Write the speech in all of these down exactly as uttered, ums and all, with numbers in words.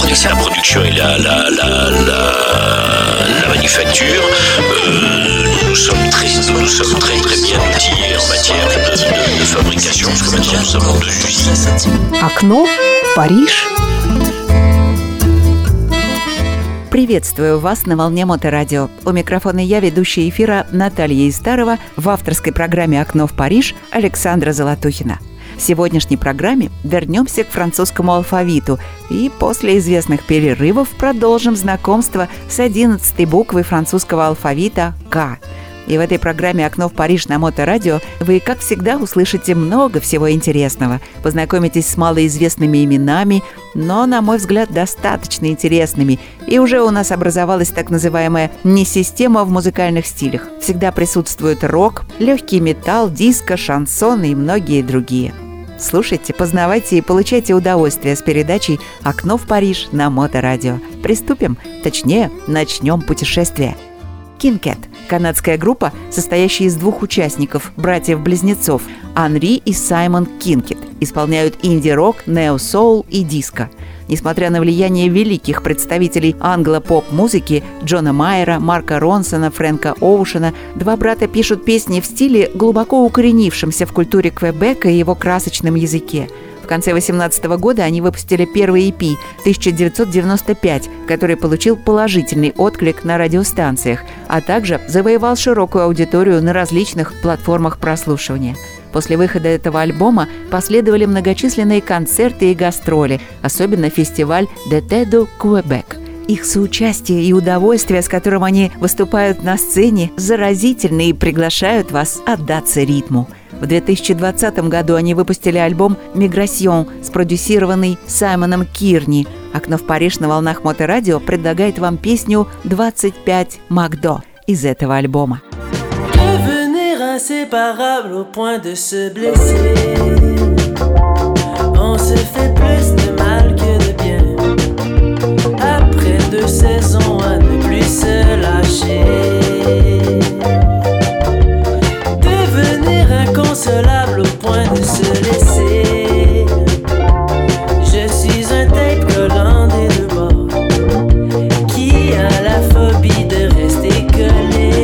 dès que c'est la production et la, la, la, la, la manufacture, euh, nous sommes très, nous sommes très, très bien outillés en matière de, de, de fabrication, parce que maintenant nous avons deux usines. Окно в Париж. Приветствую вас на волне Моторадио. У микрофона я, ведущая эфира Наталья Истарова, в авторской программе «Окно в Париж» Александра Золотухина. В сегодняшней программе вернемся к французскому алфавиту и после известных перерывов продолжим знакомство с одиннадцатой буквой французского алфавита «К». И в этой программе «Окно в Париж» на Моторадио вы, как всегда, услышите много всего интересного. Познакомитесь с малоизвестными именами, но, на мой взгляд, достаточно интересными. И уже у нас образовалась так называемая «не-система» в музыкальных стилях. Всегда присутствует рок, легкий металл, диско, шансон и многие другие. Слушайте, познавайте и получайте удовольствие с передачей «Окно в Париж» на Моторадио. Приступим, точнее, начнем путешествие. Кинкет – канадская группа, состоящая из двух участников, братьев-близнецов, Анри и Саймон Кинкет, исполняют инди-рок, нео-соул и диско. Несмотря на влияние великих представителей англо-поп-музыки Джона Майера, Марка Ронсона, Фрэнка Оушена, два брата пишут песни в стиле, глубоко укоренившемся в культуре Квебека и его красочном языке. В конце восемнадцатого года они выпустили первый и пи тысяча девятьсот девяносто пять, который получил положительный отклик на радиостанциях, а также завоевал широкую аудиторию на различных платформах прослушивания. После выхода этого альбома последовали многочисленные концерты и гастроли, особенно фестиваль «D'été de Québec». Их соучастие и удовольствие, с которым они выступают на сцене, заразительны и приглашают вас отдаться ритму. В две тысячи двадцатом году они выпустили альбом «Миграсьон», спродюсированный Саймоном Кирни. «Окно в Париж» на волнах Моторадио предлагает вам песню «двадцать пять Макдо» из этого альбома. Inséparable au point de se blesser. On se fait plus de mal que de bien. Après deux saisons à ne plus se lâcher. Devenir inconsolable au point de se laisser. Je suis un tape collant des deux bords qui a la phobie de rester collé.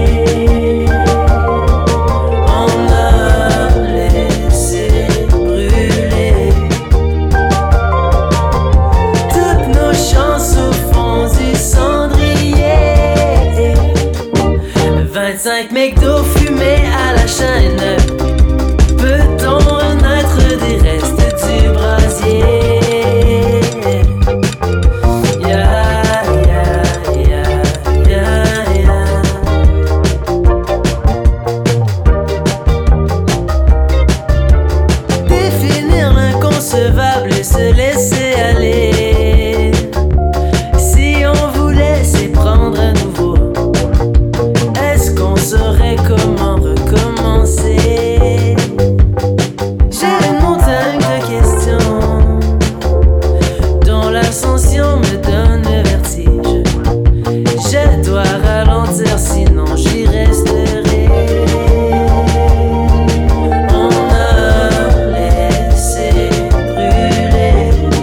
vingt-cinq McDo fumés à la chaîne. Peut-on renaître des restes du brasier? Yeah, yeah, yeah, yeah, yeah. Définir l'inconcevable et se laisser aller. Si on voulait s'y prendre à nouveau, on saurait comment recommencer. J'ai une montagne de questions dont l'ascension me donne le vertige. Je dois ralentir sinon j'y resterai. On a laissé brûler.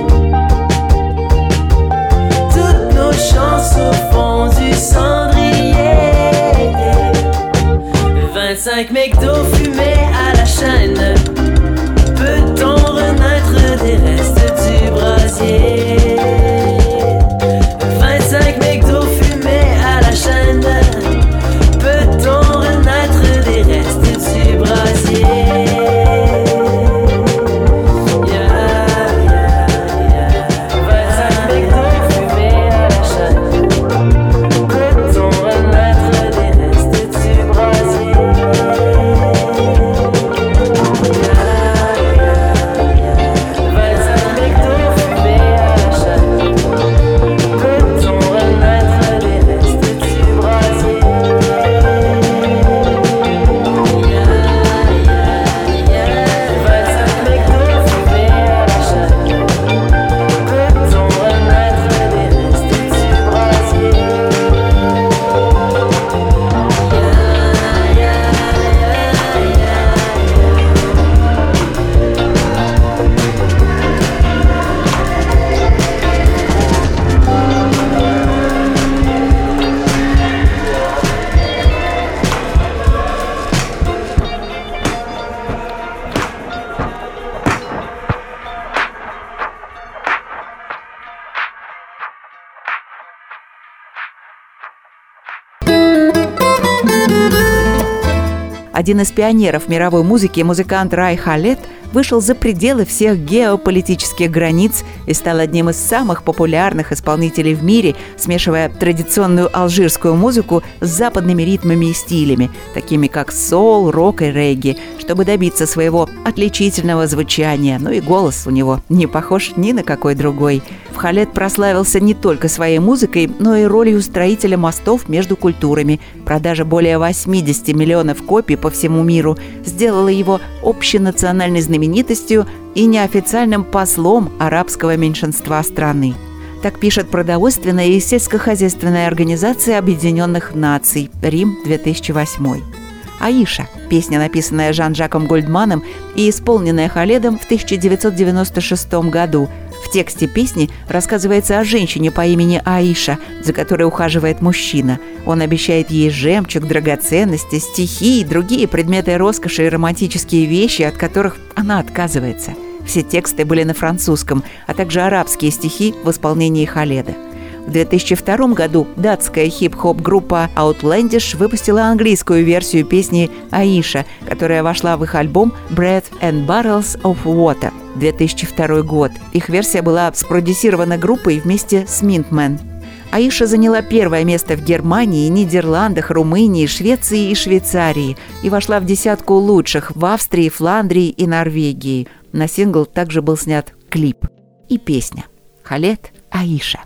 один из пионеров мировой музыки, музыкант Рай Халед, вышел за пределы всех геополитических границ и стал одним из самых популярных исполнителей в мире, смешивая традиционную алжирскую музыку с западными ритмами и стилями, такими как соул, рок и регги, чтобы добиться своего отличительного звучания. Ну и голос у него не похож ни на какой другой. Халед прославился не только своей музыкой, но и ролью строителя мостов между культурами. Продажа более восемьдесят миллионов копий по всему миру сделала его общенациональной знаменитостью и неофициальным послом арабского меньшинства страны. Так пишет продовольственная и сельскохозяйственная организация Объединенных Наций, Рим, две тысячи восьмой. «Аиша» – песня, написанная Жан-Жаком Гольдманом и исполненная Халедом в тысяча девятьсот девяносто шестом году. В тексте песни рассказывается о женщине по имени Аиша, за которой ухаживает мужчина. Он обещает ей жемчуг, драгоценности, стихи и другие предметы роскоши и романтические вещи, от которых она отказывается. Все тексты были на французском, а также арабские стихи в исполнении Халеда. В две тысячи втором году датская хип-хоп-группа Outlandish выпустила английскую версию песни «Аиша», которая вошла в их альбом «Bread and Barrels of Water» две тысячи второй год. Их версия была спродюсирована группой вместе с Mintman. Аиша заняла первое место в Германии, Нидерландах, Румынии, Швеции и Швейцарии и вошла в десятку лучших в Австрии, Фландрии и Норвегии. На сингл также был снят клип. И песня «Халед, Аиша».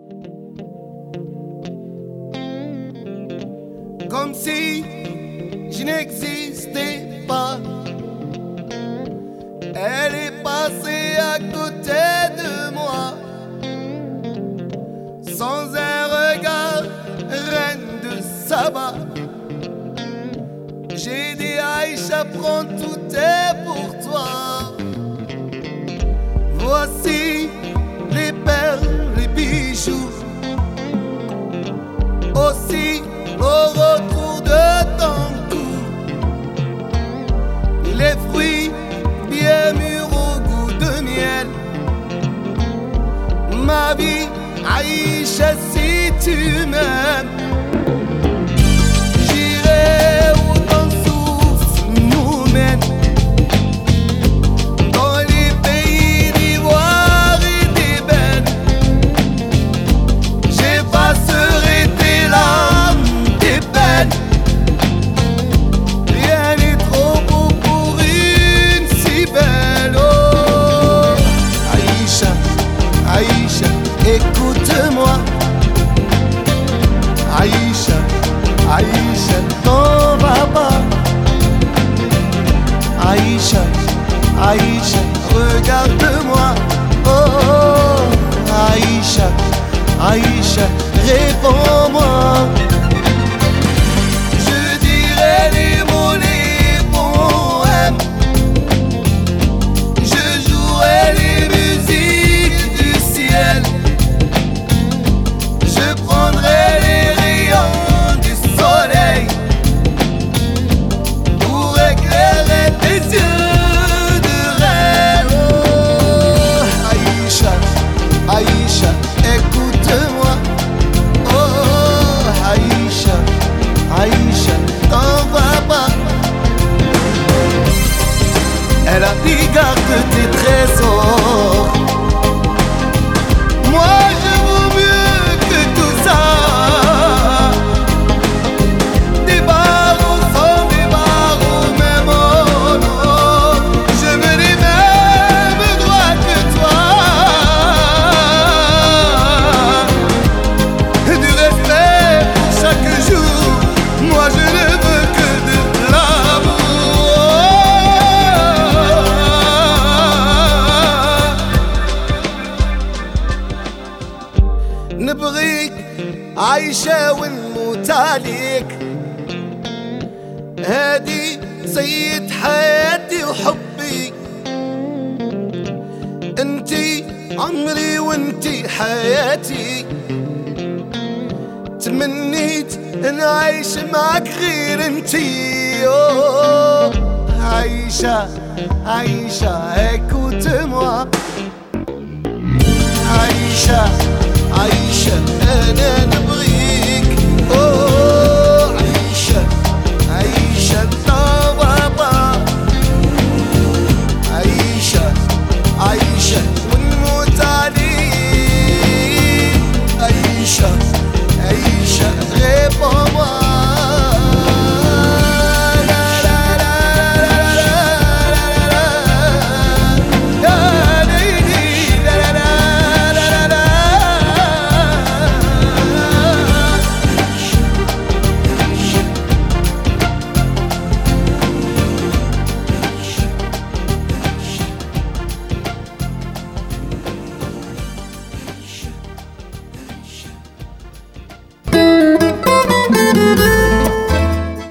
Comme si je n'existais pas. Elle est passée à côté de moi, sans un regard, reine de Saba. J'ai dit Aïcha, prends tout est pour toi. Voici les perles, les bijoux, aussi au retour de ton cou, les fruits bien mûrs au goût de miel. Ma vie, Aïcha, si tu m'aimes, j'irai où ton souffle nous mène, dans les pays d'ivoire et d'ébène. J'effacerai tes larmes, rien n'est trop beau pour une si belle. Oh, Aïcha, Aïcha, écoute-moi. Aïcha, Aïcha, t'en vas pas. Aïcha, Aïcha, regarde-moi. Oh, Aïcha, Aïcha, réponds-moi. Les mots, les poèmes, je jouerai les musiques du ciel, je prendrai les rayons du soleil pour éclairer tes yeux de reine. Oh, Aïcha, Aïcha, écoute-moi. Oh, Aïcha, Aïcha, t'en vas pas. Elle a dit garde tes trésors. Moi je vaux mieux que tout ça. Des barreaux sans des barreaux, même oh non. Je veux les mêmes droits que toi. Du respect pour chaque jour. Moi je ne veux que de l'amour. نبغيك عايشة ونموت عليك. هادي سيد حياتي وحبي. انتي عمري وانتي حياتي. تمنيت نعيش معك غير انتي. أوه عايشة عايشة écoute-moi. عايشة عايشة أنا نبغيك. أوه عايشة عايشة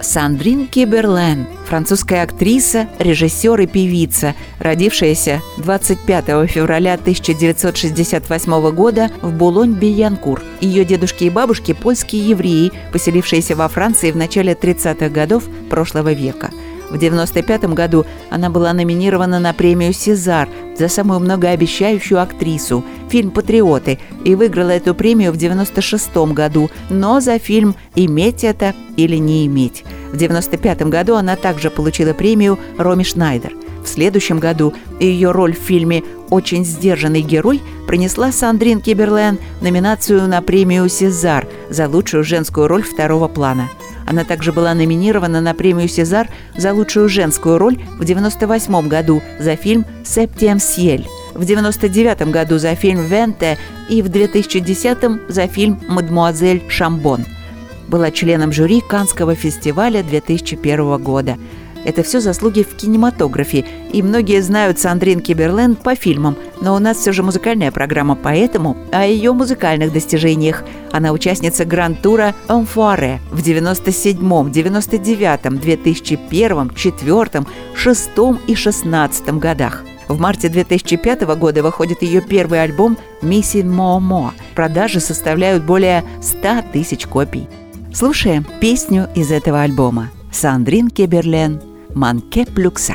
Сандрин Киберлен, французская актриса, режиссер и певица, родившаяся двадцать пятого февраля тысяча девятьсот шестьдесят восьмого года в Булонь-Бильянкур. Ее дедушки и бабушки – польские евреи, поселившиеся во Франции в начале тридцатых годов прошлого века. В девяносто пятом году она была номинирована на премию «Сезар» за самую многообещающую актрису, фильм «Патриоты», и выиграла эту премию в девяносто шестом году, но за фильм «Иметь это или не иметь». В девяносто пятом году она также получила премию «Роми Шнайдер». В следующем году ее роль в фильме «Очень сдержанный герой» принесла Сандрин Киберлен номинацию на премию «Сезар» за лучшую женскую роль второго плана. Она также была номинирована на премию «Сезар» за лучшую женскую роль в девяносто восьмом году за фильм «Септием Сьель», в девяносто девятом году за фильм «Венте» и в две тысячи десятом за фильм «Мадемуазель Шамбон». Была членом жюри Каннского фестиваля две тысячи первого года. Это все заслуги в кинематографе, и многие знают Сандрин Киберлен по фильмам, но у нас все же музыкальная программа, поэтому о ее музыкальных достижениях. Она участница гранд-тура «Enfoiré» в девяносто седьмом, девяносто девятом, две тысячи первом, две тысячи четвёртом, две тысячи шестом и две тысячи шестнадцатом годах. В марте две тысячи пятого года выходит ее первый альбом «Missing More More». Продажи составляют более ста тысяч копий. Слушаем песню из этого альбома. Сандрин Киберлен «Manqué plus que ça».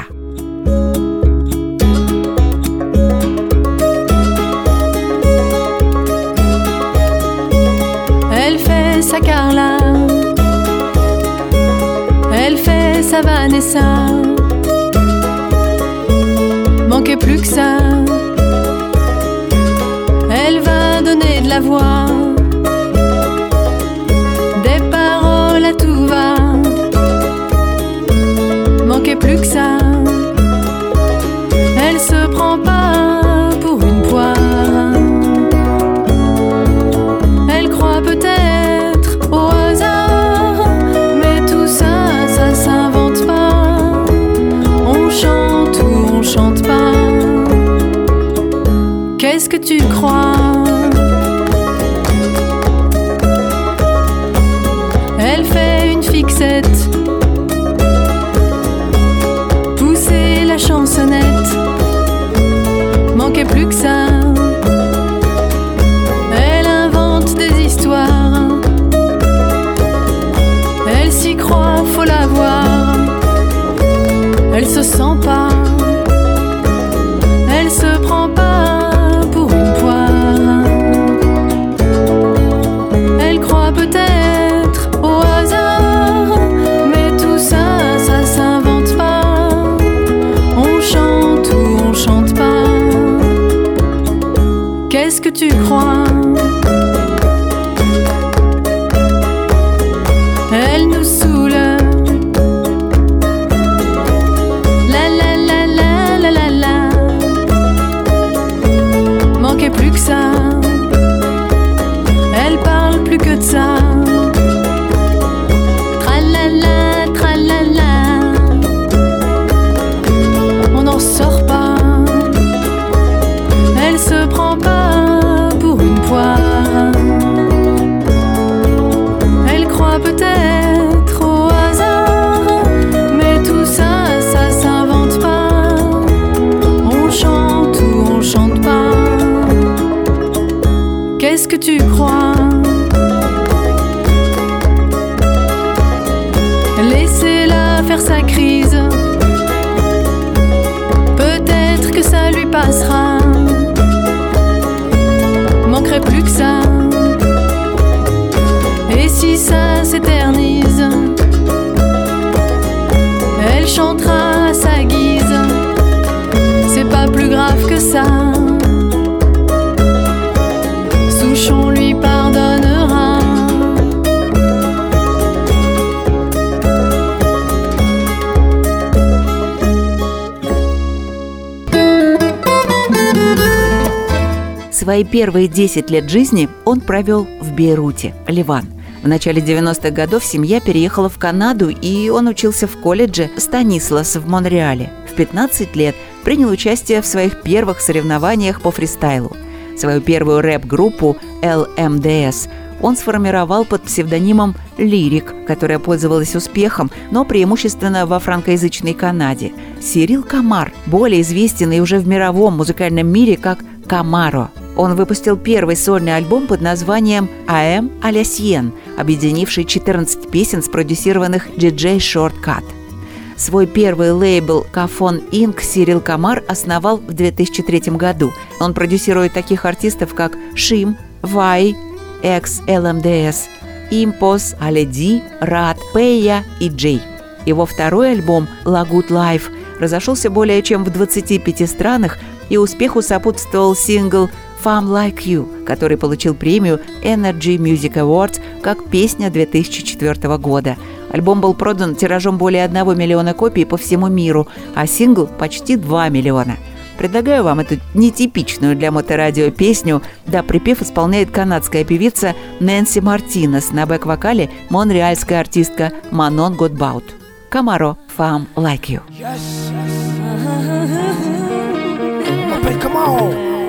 Elle fait sa Carla, elle fait sa Vanessa, manquait plus que ça. Elle va donner de la voix, des paroles à tout va, manquait plus que ça. Elle se prend pas pour une poire, elle croit peut-être au hasard, mais tout ça, ça s'invente pas. On chante ou on chante pas. Qu'est-ce que tu crois? Elle fait une fixette, pousser la chansonnette, manquait plus que ça. Elle invente des histoires, elle s'y croit, faut la voir. Elle se sent pas, elle se prend pas pour une poire. Elle croit peut-être au hasard, mais tout ça, ça s'invente pas. On chante ou on chante pas. Qu'est-ce que tu crois? Elle nous saoule. La la la la la la la. Manquait plus que ça. Elle parle plus que de ça. Tralala, tralala. On n'en sort pas. Elle se prend pas pour une poire. Elle croit peut-être au hasard, mais tout ça, ça s'invente pas. On chante ou on chante pas. Qu'est-ce que tu crois? Laissez-la faire sa crise, peut-être que ça lui passera. Manquerait plus que ça. Et si ça s'éternise, elle chantera à sa guise. C'est pas plus grave que ça. Souchon lui pardonnera. Свои первые десять лет жизни он провел в Бейруте, Ливан. В начале девяностых годов семья переехала в Канаду, и он учился в колледже Станислас в Монреале. В пятнадцать лет принял участие в своих первых соревнованиях по фристайлу. Свою первую рэп-группу эл эм дэ эс он сформировал под псевдонимом «Лирик», которая пользовалась успехом, но преимущественно во франкоязычной Канаде. Сирил Камар более известен и уже в мировом музыкальном мире как Камаро. Он выпустил первый сольный альбом под названием «I am à la sienne», объединивший четырнадцать песен, спродюсированных ди джей Shortcut. Свой первый лейбл Кафон инк Сирил Камар основал в две тысячи третьем году. Он продюсирует таких артистов, как Шим, Вай, Экс эл эм ди эс, Импос, Аледи, Рад, Пэя и Джей. Его второй альбом «La Good Life» разошелся более чем в двадцати пяти странах, и успеху сопутствовал сингл «Femme Like You», который получил премию Energy Music Awards как песня две тысячи четвёртого года. Альбом был продан тиражом более одного миллиона копий по всему миру, а сингл – почти два миллиона. Предлагаю вам эту нетипичную для моторадио песню. Да, припев исполняет канадская певица Нэнси Мартинес, на бэк-вокале монреальская артистка Манон Годбаут. Камаро, «Femme Like You». Yes. M'appelle Camaro.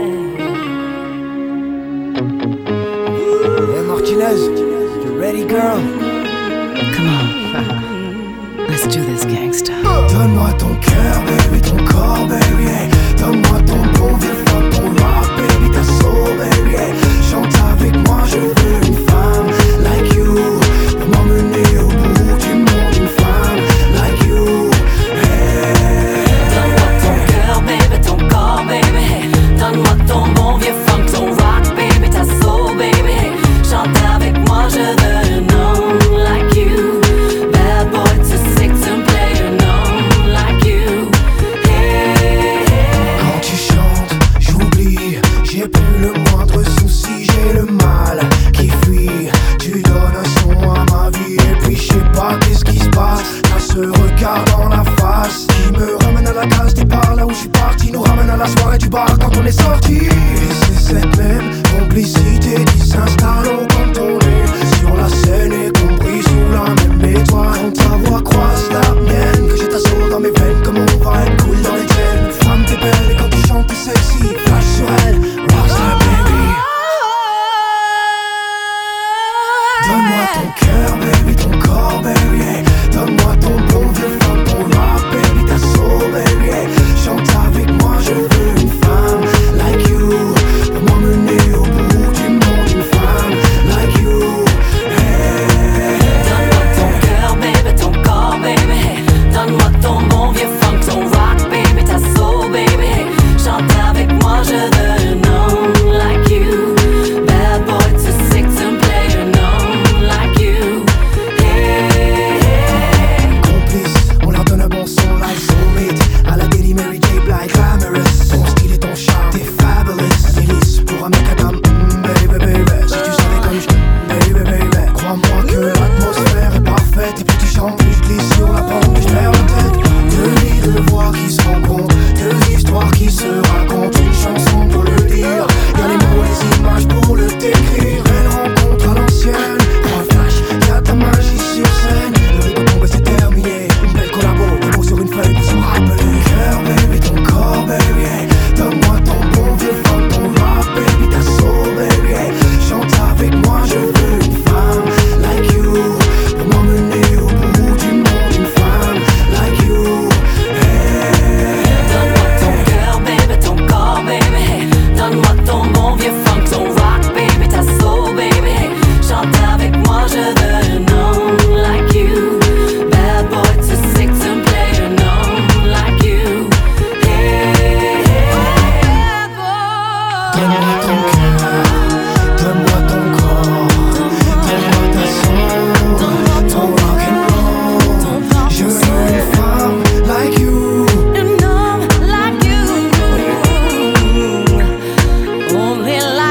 Hey Martinez, you ready, girl? Come on, let's do this, gangsta. Donne-moi ton cœur, baby, ton corps, baby, hey. Donne-moi ton bon vieux funk, ton rock, baby, ta soul, baby, hey. Chante avec moi, je veux une femme like you, pour m'emmener au bout du monde, une femme like you, hey. Donne-moi ton cœur, baby, ton corps, baby, hey. Donne-moi ton bon vieux funk, ton rock, baby, ta soul, baby, hey. Chante avec moi, je veux une homme like you. Bad boy to six and play a known like you. Hey, hey. Quand tu chantes, j'oublie, j'ai plus le moindre souci, j'ai le mal qui fuit. Tu donnes un son à ma vie et puis je sais pas qu'est-ce qui se passe. T'as ce regard dans la face qui me ramène à la case départ, là où je suis parti, nous ramène à la soirée du bar quand on est sorti. Et c'est cette même complicité qui s'installe au cantonné sur la scène et compris sous la même étoile. Quand ta voix croise la mienne, que j'ai ta soul dans mes veines, comme on va être cool dans les chaînes. Femme t'es belle et quand tu chantes t'es sexy, flash sur elle, rockstar baby. Donne-moi ton cœur baby, ton corps baby, hey. Donne-moi ton bon vieux funk, ton rock baby, ta soul baby, hey. Chante avec moi, je veux une femme like you, pour m'emmener au bout du monde, une femme like you, hey. Donne-moi ton cœur, baby, ton corps, baby, hey. Donne-moi ton bon vieux funk, ton rock, baby, ta soul, baby, hey. Chante avec moi, je veux un homme like you. Bad boy to six and play a known like you. Hey, hey. Complice, on leur donne un bon son like Soulmate, à la Daily Mary J. Blige, glamorous. Ton style et ton charme, t'es fabulous. Délice pour un mec à dame, mm, baby, baby. Si tu savais comme je baby, baby. Crois-moi que l'atmosphère est parfaite. Et plus tu chantes, plus je glisse sur la pente et je perds la tête. Deux lits, deux voix qui se rencontrent, deux histoires qui se racontent. Une chanson pour le dire, y'a les mots, les images pour le décrire. Belle rencontre à l'ancienne, trois flash, y'a ta magie sur scène. Le rythme tombe et c'est terminé. Une belle collabo, des mots sur une feuille pour se rappeler. Cœur, baby, ton corps, baby, hey. Donne-moi ton bon vieux funk, ton rock, baby, ta soul, baby, hey. Chante avec moi, je veux une femme like you, pour m'emmener au bout du monde, une femme like you, hey. Donne-moi ton cœur, baby, ton corps, baby, hey. Donne-moi ton bon vieux funk, ton rock, baby, ta soul, baby, hey. Chante avec moi, je veux un homme like you. Bad boy to six and play a known like you. Hey, hey. Donne-moi ton cœur, donne-moi ton corps, donne-moi ta soul, ton rock and roll. Je veux une femme like you. An homme like you. Only like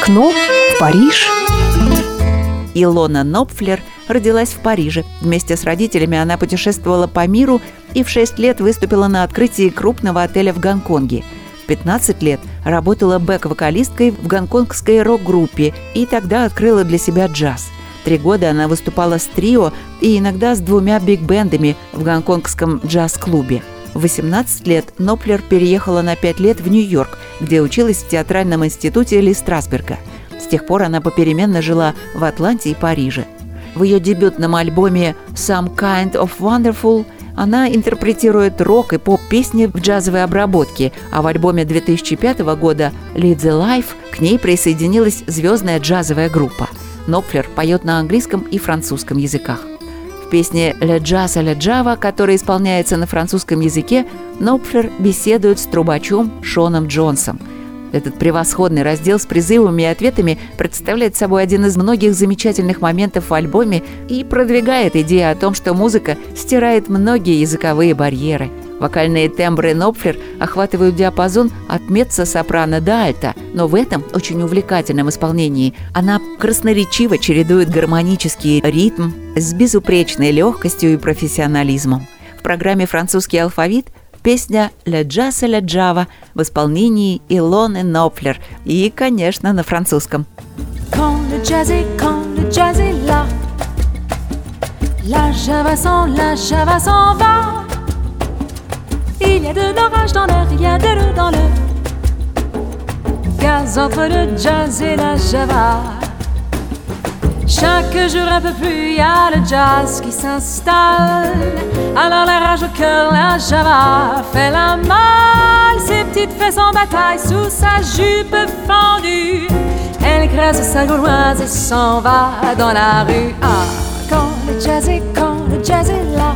Окно в Париж. Илона Нопфлер родилась в Париже. Вместе с родителями она путешествовала по миру и в шесть лет выступила на открытии крупного отеля в Гонконге. В пятнадцать лет работала бэк-вокалисткой в гонконгской рок-группе и тогда открыла для себя джаз. Три года она выступала с трио и иногда с двумя биг-бендами в гонконгском джаз-клубе. В восемнадцать лет Нопфлер переехала на пять лет в Нью-Йорк, где училась в театральном институте Ли Страсберга. С тех пор она попеременно жила в Атланте и Париже. В ее дебютном альбоме «Some Kind of Wonderful» она интерпретирует рок и поп-песни в джазовой обработке, а в альбоме две тысячи пятого года «Lead the Life» к ней присоединилась звездная джазовая группа. Нопфлер поет на английском и французском языках. В песне «Le Jazz à la Java», которая исполняется на французском языке, Нопфлер беседует с трубачом Шоном Джонсом. Этот превосходный раздел с призывами и ответами представляет собой один из многих замечательных моментов в альбоме и продвигает идею о том, что музыка стирает многие языковые барьеры. Вокальные тембры Нопфлер охватывают диапазон от меццо-сопрано до альто, но в этом очень увлекательном исполнении она красноречиво чередует гармонический ритм с безупречной легкостью и профессионализмом. В программе «Французский алфавит» песня «Le Jazz à la Java» в исполнении Илоны Нопфлер и, конечно, на французском. Quand le jazz est, quand le jazz est là, la java s'en, la java s'en va. Il y a de l'orage dans l'air, il y a de l'eau dans le gaz entre le jazz et la java. Chaque jour un peu plus, il y a le jazz qui s'installe. Alors la rage au cœur, la java fait la malle. Ses petites fesses en bataille sous sa jupe fendue. Elle écrase sa gauloise et s'en va dans la rue. Ah, quand le jazz est, quand le jazz est là,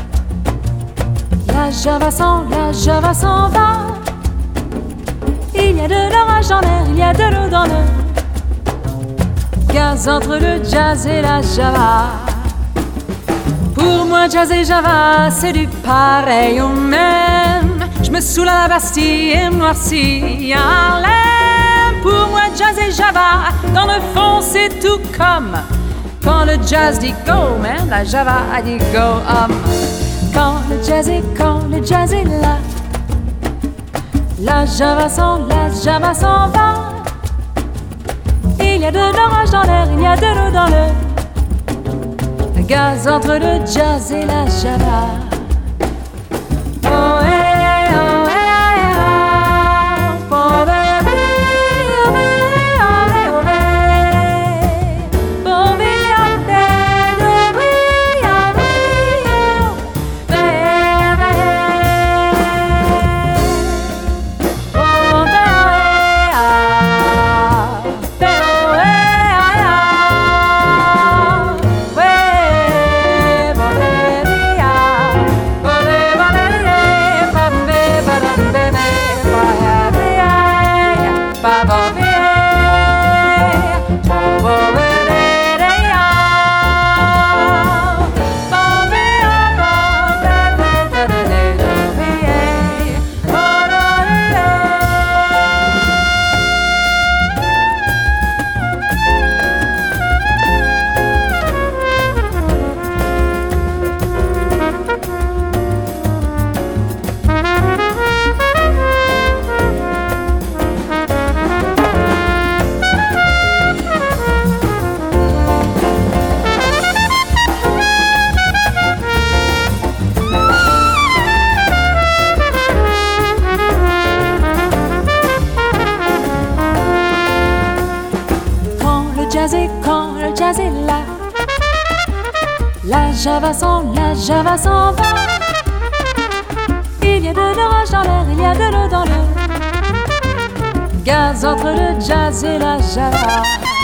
la java s'en, la java s'en va. Il y a de l'orage dans l'air, il y a de l'eau dans le gaz entre le jazz et la java. Pour moi, jazz et java, c'est du pareil au même. Je me saoule à la Bastille et me noircis à Harlem. Pour moi, jazz et java, dans le fond, c'est tout comme quand le jazz dit go, man, la java a dit go up. Quand le jazz est, quand le jazz est là, la java s'en, la java s'en va. Il y a de l'orage dans l'air, il y a de l'eau dans le gaz entre le jazz et la java. Oh, hey, oh, hey, oh, oh, baby, oh, baby, oh, hey, oh, hey. Oh, baby, oh, baby, oh, baby, oh, baby. Oh, baby, la java s'en, la java s'en va. Il y a de l'orage dans l'air, il y a de l'eau dans le gaz entre le jazz et la java.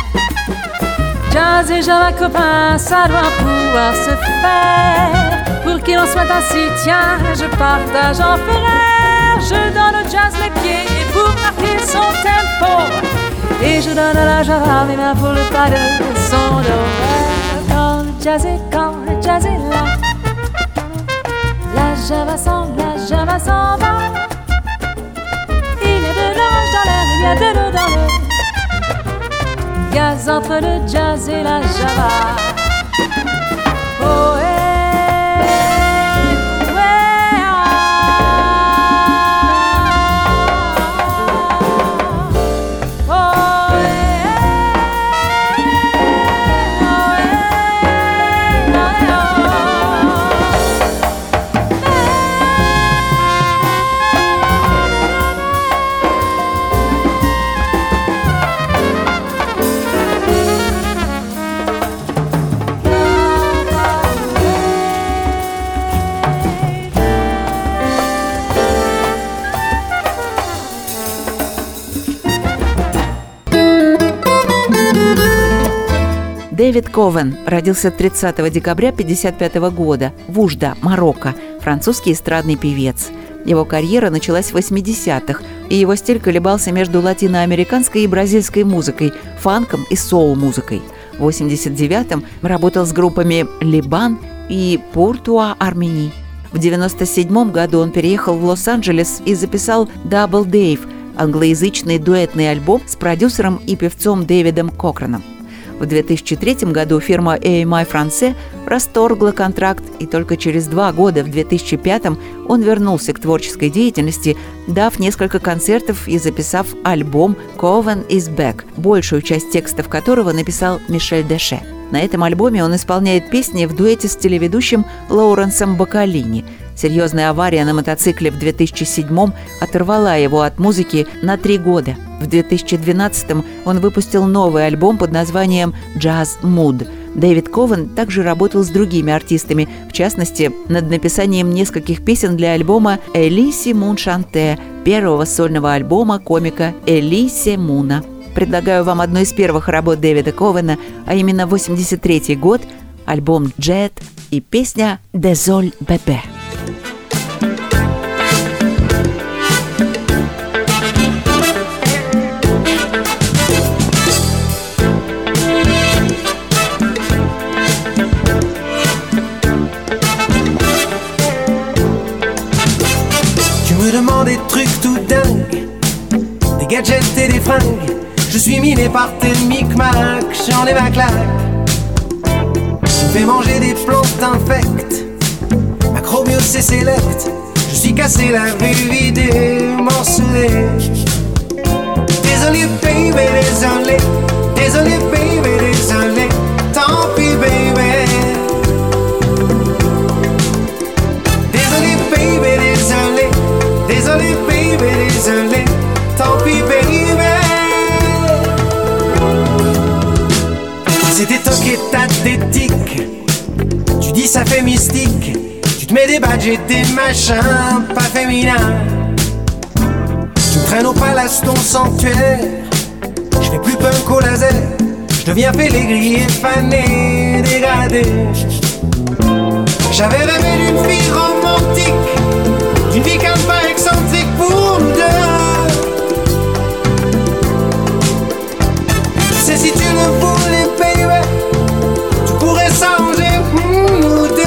Jazz et java copains, ça doit pouvoir se faire. Pour qu'il en soit ainsi, tiens, je partage en frère. Je donne au jazz les pieds et pour marquer son tempo. Et je donne à la java mes mains pour le pas de son dos. Quand le jazz est, quand le jazz est là, la java s'en, la java s'en va. Il y a de l'orage dans l'air, il y a de l'eau dans le gaz entre le jazz et la java. Oh, eh, ouais, ah. Oh, eh, oh, eh, oh, eh, Дэвид Ковен родился тридцатого декабря тысяча девятьсот пятьдесят пятого года в Ужда, Марокко, французский эстрадный певец. Его карьера началась в восьмидесятых, и его стиль колебался между латиноамериканской и бразильской музыкой, фанком и соул-музыкой. В восемьдесят девятом работал с группами «Либан» и «Пуртуа Армени». В девяносто седьмом году он переехал в Лос-Анджелес и записал «Double Dave» – англоязычный дуэтный альбом с продюсером и певцом Дэвидом Кокраном. В две тысячи третьем году фирма эй эм ай France расторгла контракт, и только через два года, в две тысячи пятом, он вернулся к творческой деятельности, дав несколько концертов и записав альбом «Coven is Back», большую часть текстов которого написал Мишель Деше. На этом альбоме он исполняет песни в дуэте с телеведущим Лоуренсом Бакалини. Серьезная авария на мотоцикле в две тысячи седьмом оторвала его от музыки на три года. В две тысячи двенадцатом он выпустил новый альбом под названием «Jazz Mood». Дэвид Ковен также работал с другими артистами, в частности, над написанием нескольких песен для альбома «Элиси Мун Шанте», первого сольного альбома комика Элиси Муна. Предлагаю вам одну из первых работ Дэвида Ковена, а именно восемьдесят третий год, альбом «Джет» и песня «Désolé bébé». Des trucs tout dingues, des gadgets et des fringues. Je suis miné par tes micmacs, j'en ai ma claque. Tu me fais manger des plantes infectes, macrobios et sélectes. Je suis cassé, la vue vidée, morcelée. Désolé baby, désolé, désolé baby, désolé. Tant pis baby. Désolé baby, désolé. Désolé baby, désolé, tant pis baby. C'était toqué tathétique, tu dis ça fait mystique. Tu te mets des badges et des machins pas féminins. Tu me traînes au palace ton sanctuaire. Je fais plus punk au laser, je deviens félégrier, fané, dégradé. J'avais rêvé d'une fille romantique, d'une vie calme pas excentrique pour nous deux. C'est si tu le voulais, baby, tu pourrais s'arranger pour nous deux.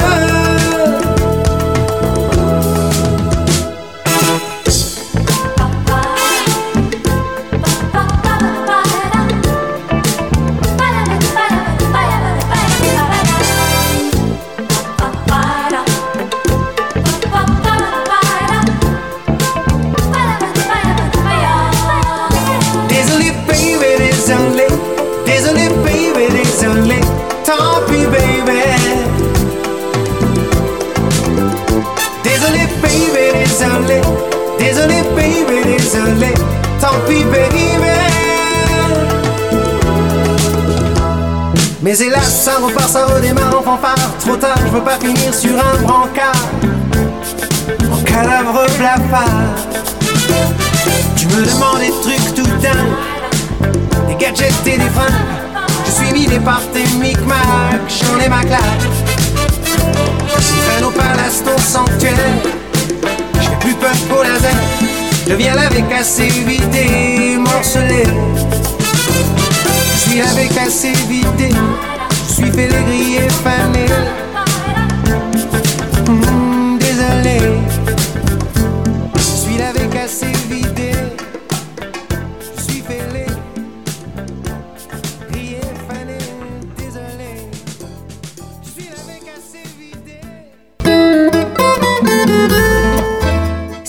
Désolé baby, désolé, tant pis baby. Mais hélas, ça repart, ça redémarre en fanfare. Trop tard, je veux pas finir sur un brancard en cadavre blafard. Tu me demandes des trucs tout dingues, des gadgets et des fringues. Je suis miné par tes micmacs, j'en ai ma claque. Tu traînes au palace ton sanctuaire. Plus peur qu'au laser, je viens laver, casser, vider, morceler. Je suis lavé, cassé, vidé, je suis félégrier, fané. Mmh, désolé, je suis lavé, cassé, vidé, je suis félé.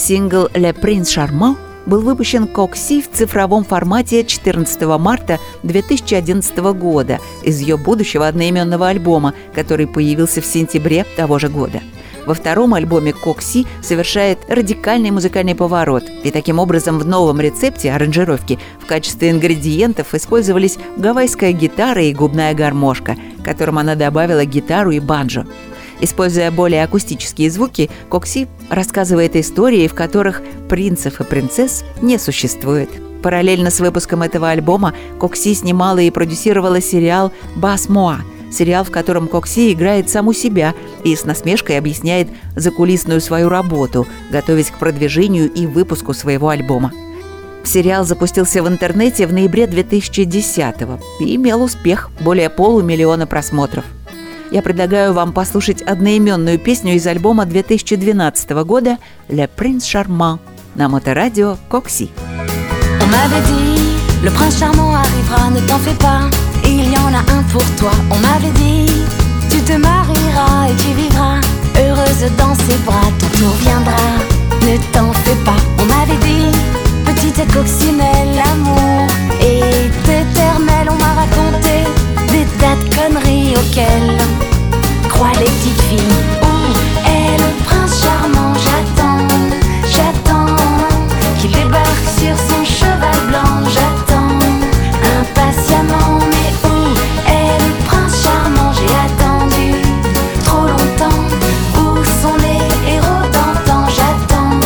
Сингл «Le Prince Charmant» был выпущен Кокси в цифровом формате четырнадцатого марта две тысячи одиннадцатого года из ее будущего одноименного альбома, который появился в сентябре того же года. Во втором альбоме Кокси совершает радикальный музыкальный поворот, и таким образом в новом рецепте аранжировки в качестве ингредиентов использовались гавайская гитара и губная гармошка, к которым она добавила гитару и банджо. Используя более акустические звуки, Кокси рассказывает истории, в которых принцев и принцесс не существует. Параллельно с выпуском этого альбома Кокси снимала и продюсировала сериал «Бас Моа», сериал, в котором Кокси играет саму себя и с насмешкой объясняет закулисную свою работу, готовясь к продвижению и выпуску своего альбома. Сериал запустился в интернете в ноябре две тысячи десятого и имел успех – более полумиллиона просмотров. Я предлагаю вам послушать одноименную песню из альбома две тысячи двенадцатого года «Le Prince Charmant» на моторадио Кокси. On m'avait dit, le prince charmant arrivera, ne t'en fais pas, il y en a un pour toi. On m'avait dit, tu te marieras et tu vivras heureuse dans ses bras, ton tour viendra, ne t'en fais pas. On m'avait dit, petite coccinelle, l'amour est éternel. On m'a raconté des tas de conneries auxquelles croient les petites filles. Où est le prince charmant? J'attends, j'attends qu'il débarque sur son cheval blanc. J'attends impatiemment, mais où est le prince charmant? J'ai attendu trop longtemps. Où sont les héros d'antan? J'attends.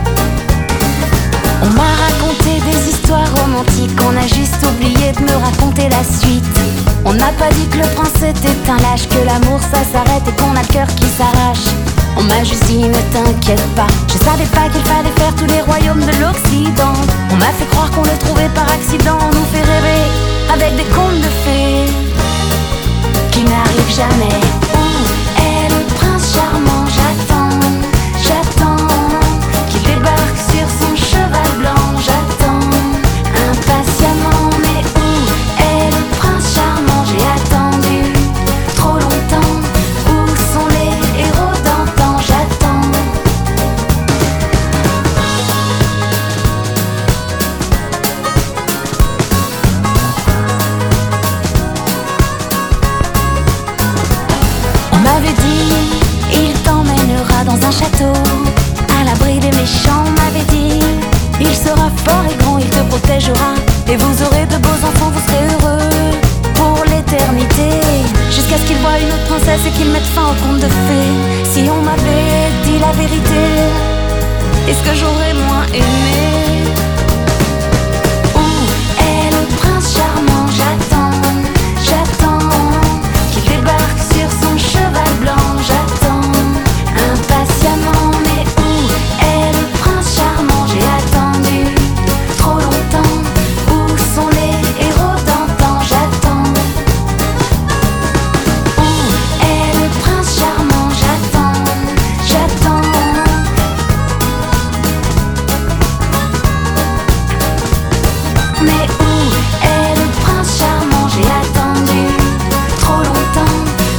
On m'a raconté des histoires romantiques, on a juste oublié de me raconter la suite. On n'a pas dit que le prince était un lâche, que l'amour ça s'arrête et qu'on a le cœur qui s'arrache. On m'a juste dit ne t'inquiète pas, je savais pas qu'il fallait faire tous les royaumes de l'Occident. On m'a fait croire qu'on le trouvait par accident, on nous fait rêver avec des contes de fées qui n'arrivent jamais. Où est le prince charmant? J'attends, j'attends qu'il débarque sur son cheval blanc. J'attends impatiemment, mais où est le prince charmant? J'ai attendu trop longtemps. Où sont les héros d'antan? J'attends. On m'avait dit, il t'emmènera dans un château à l'abri des méchants. On m'avait dit, il sera fort et grand, il te protégera et vous aurez de beaux enfants, vous serez heureux pour l'éternité, jusqu'à ce qu'il voie une autre princesse et qu'il mette fin au conte de fées. Si on m'avait dit la vérité, est-ce que j'aurais moins aimé? Où est le prince charmant? J'attends, j'attends qu'il débarque sur son cheval blanc. J'attends impatiemment, mais où est le prince charmant? J'ai attendu trop longtemps. Où sont les héros d'antan? J'attends. Où est le prince charmant? J'attends, j'attends. Mais où est le prince charmant? J'ai attendu trop longtemps.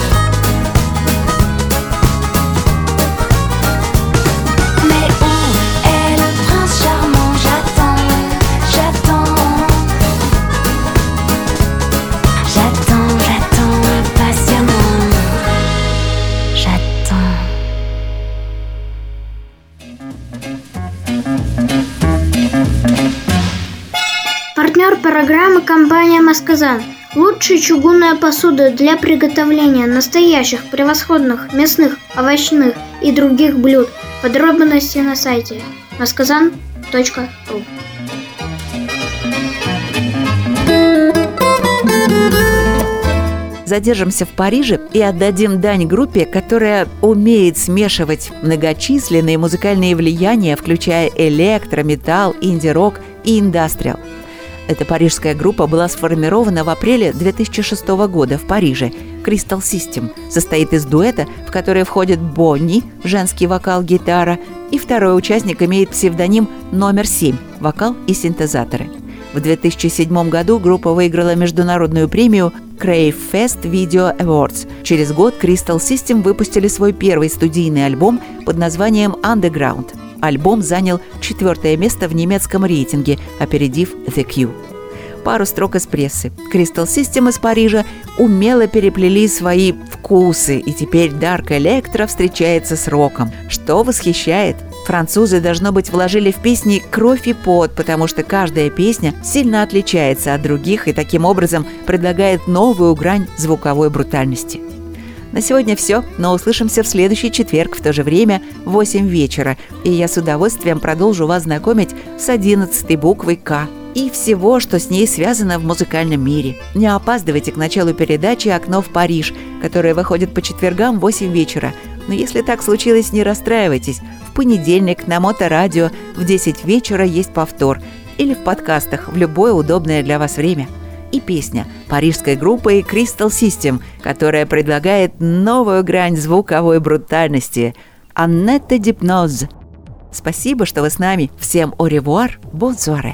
Mais où est le prince charmant? J'attends, j'attends. J'attends, j'attends impatiemment. J'attends. Партнер программы — компания «Масказан». Лучшая чугунная посуда для приготовления настоящих превосходных мясных, овощных и других блюд. Подробности на сайте масказан точка ру. Задержимся в Париже и отдадим дань группе, которая умеет смешивать многочисленные музыкальные влияния, включая электро, металл, инди-рок и индастриал. Эта парижская группа была сформирована в апреле две тысячи шестого года в Париже. Crystal System состоит из дуэта, в который входит Бонни, женский вокал, гитара, и второй участник имеет псевдоним номер семь, вокал и синтезаторы. В две тысячи седьмом году группа выиграла международную премию Crave Fest Video Awards. Через год Crystal System выпустили свой первый студийный альбом под названием Underground. альбом занял четвертое место в немецком рейтинге, опередив The Cure. Пару строк из прессы. Crystal System из Парижа умело переплели свои вкусы, и теперь Dark Electro встречается с роком, что восхищает. Французы, должно быть, вложили в песни кровь и пот, потому что каждая песня сильно отличается от других и таким образом предлагает новую грань звуковой брутальности. На сегодня все, но услышимся в следующий четверг в то же время в восемь вечера, и я с удовольствием продолжу вас знакомить с одиннадцатой буквой «К» и всего, что с ней связано в музыкальном мире. Не опаздывайте к началу передачи «Окно в Париж», которая выходит по четвергам в восемь вечера. Но если так случилось, не расстраивайтесь. В понедельник на Моторадио в десять вечера есть повтор или в подкастах в любое удобное для вас время. И песня парижской группы Crystal System, которая предлагает новую грань звуковой брутальности – Annette d'Hypnose. Спасибо, что вы с нами. Всем au revoir, bonne soirée.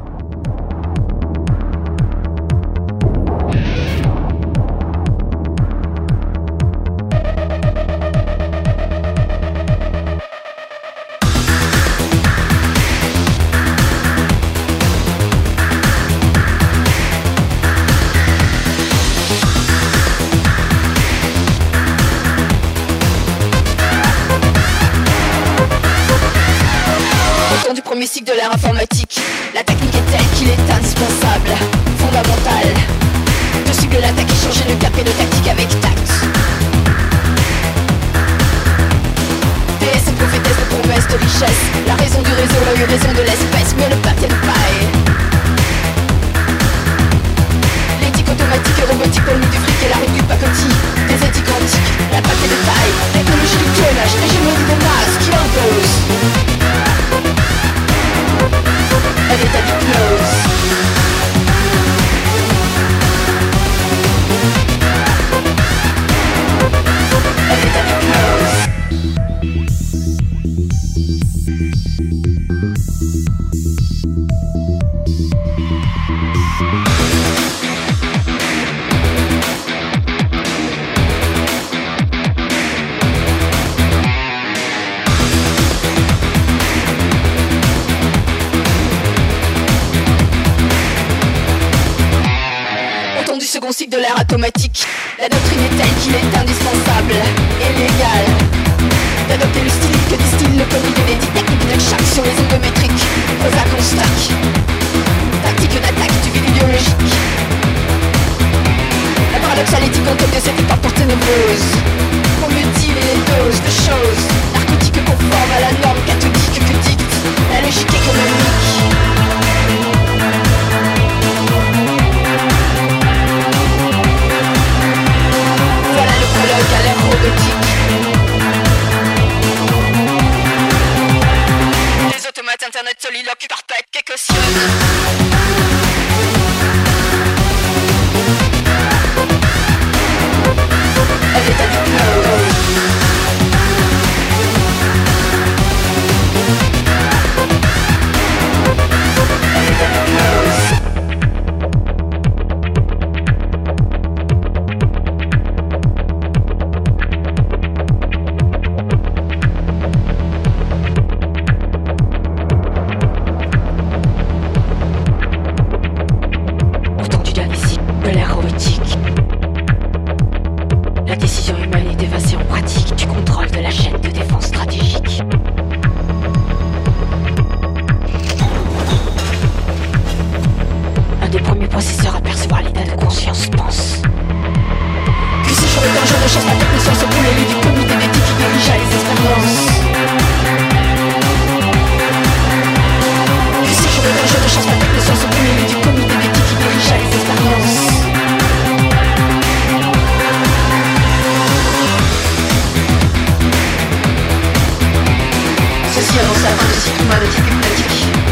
Premier cycle de l'ère informatique, la technique est telle qu'il est indispensable, fondamental. De suivre l'attaque et changer le cap et de tactique avec tact. Déesse et prophétesse de promesses de richesse, la raison du réseau, l'œil raison de l'espèce, mais le papier de paille. L'éthique automatique et robotique pour le du fric et la rue du pacotille. Des éthiques antiques, la papier de taille, technologie du clonage, l'hégémonie des masses qui impose. Elle est à l'hypnose. Elle est à l'hypnose. Second cycle de l'ère automatique, la doctrine est telle qu'il est indispensable et légal d'adopter le style que distille le comité des dix techniques de chaque sur les ondes métriques. Prosa qu'on stack, tactique d'attaque du vide idéologique. La paradoxale éthique en tête de cette époque ténébreuse. On mutile les doses de choses narcotiques conformes à la norme cathodique que dicte la logique économique. À l'ère robotique. Des automates internet soliloques parfaits et cautionnent. Elle est à l'hypnose. Elle est à l'hypnose. Ceci annonce la fin de cycle humain de type hypnotique.